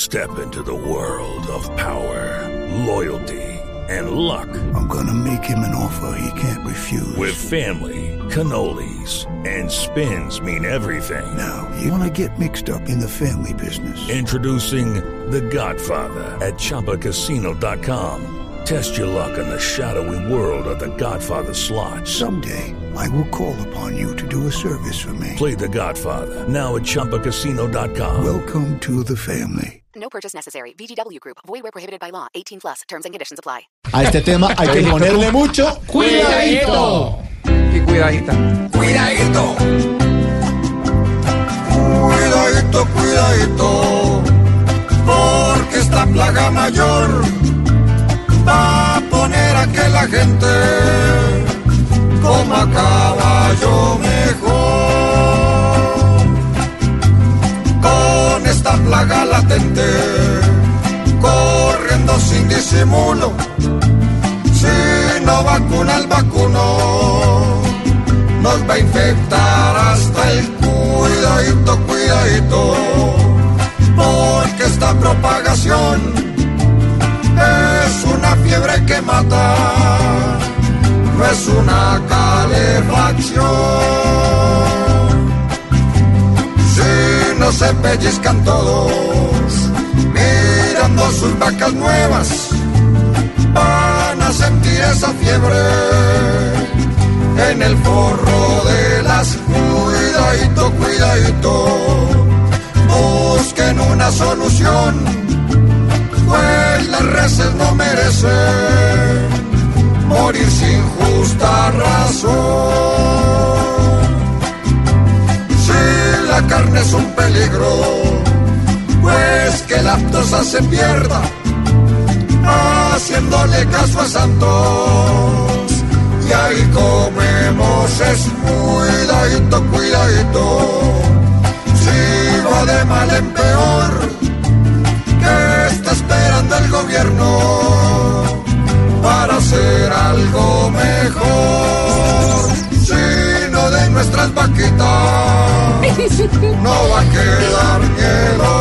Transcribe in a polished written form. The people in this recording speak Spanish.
Step into the world of power, loyalty, and luck. I'm gonna make him an offer he can't refuse. With family, cannolis, and spins mean everything. Now, you wanna get mixed up in the family business. Introducing The Godfather at ChumbaCasino.com. Test your luck in the shadowy world of The Godfather slot. Someday, I will call upon you to do a service for me. Play The Godfather, now at ChumbaCasino.com. Welcome to the family. No purchase necessary. VGW Group. Void where prohibited by law. 18+. Terms and conditions apply. A este tema hay que ponerle mucho cuidadito. Y cuidadita. Cuidadito. Cuidadito, cuidadito. Porque esta plaga mayor va a poner a que la gente coma caballo mejor. Con esta plaga latente, corriendo sin disimulo, si no vacuna el vacuno, nos va a infectar hasta el cuidadito, cuidadito, porque esta propagación es una fiebre que mata, no es una calefacción. Si no se pellizcan todos, mirando sus vacas nuevas, van a sentir esa fiebre en el forro de las. Cuidadito, cuidadito, busquen una solución, pues las reses no merecen morir sin justa razón. Si la carne es un peligro, pues que la aftosa se pierda, haciéndole caso a Santos. Y ahí comemos es cuidadito, cuidadito, si va de mal en peor, ¿qué está esperando el gobierno para hacer algo mejor? Si no de nuestras vaquitas no va a quedar ni el